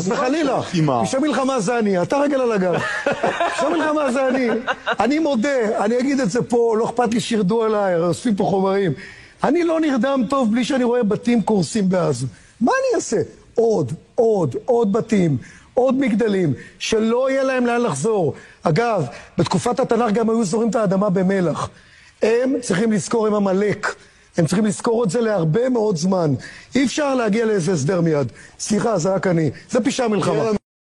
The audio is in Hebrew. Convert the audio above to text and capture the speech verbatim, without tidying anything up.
חס וחלילה. פשעי מלחמה זה אני, אתה רגל על הגב. פשעי מלחמה זה אני. אני מודה, אני אגיד את זה פה, לא אכפת לי שירדו עליי, אוספים פה חומרים. אני לא נרדם טוב בלי שאני רואה בתים קורסים בעזה. מה אני אעשה? עוד, עוד, עוד בתים, עוד מגדלים, שלא יהיה להם לאן לחזור. אגב, בתקופת התנ"ך גם היו זורים את האדמה במלח. הם צריכים לזכור, הם המלאק. הם צריכים לזכור את זה להרבה מאוד זמן. אי אפשר להגיע לאיזה הסדר מיד. סליחה, זה רק אני. זה פשע מלחמה.